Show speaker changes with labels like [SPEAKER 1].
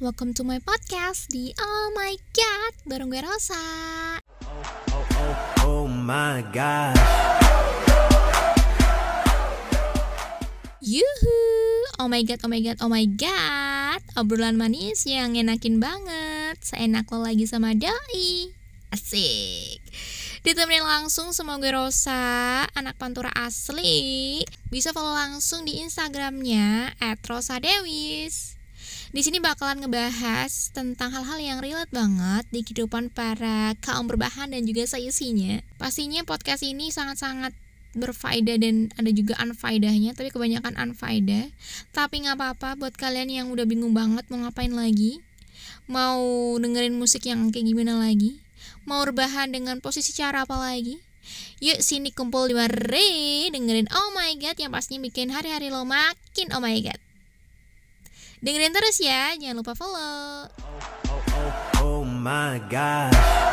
[SPEAKER 1] welcome to my podcast di Oh My God bareng gue Rosa.
[SPEAKER 2] Oh my God.
[SPEAKER 1] Yuhu, oh my god, oh my god, oh my god. Obrolan manis yang enakin banget. Seenak lo lagi sama doi. Asik. Ditemenin langsung sama gue Rosa, anak Pantura asli. Bisa follow langsung di Instagramnya @rosadewis. Di sini bakalan ngebahas tentang hal-hal yang relate banget di kehidupan para kaum berbahan dan juga seisinya. Pastinya podcast ini sangat-sangat berfaedah dan ada juga unfaedahnya, tapi kebanyakan unfaedah. Tapi gak apa-apa buat kalian yang udah bingung banget mau ngapain lagi, mau dengerin musik yang kayak gimana lagi, mau rebahan dengan posisi cara apa lagi. Yuk sini kumpul di mari dengerin Oh My God yang pastinya bikin hari-hari lo makin oh my god. Dengerin terus ya, jangan lupa follow.
[SPEAKER 2] Oh my God.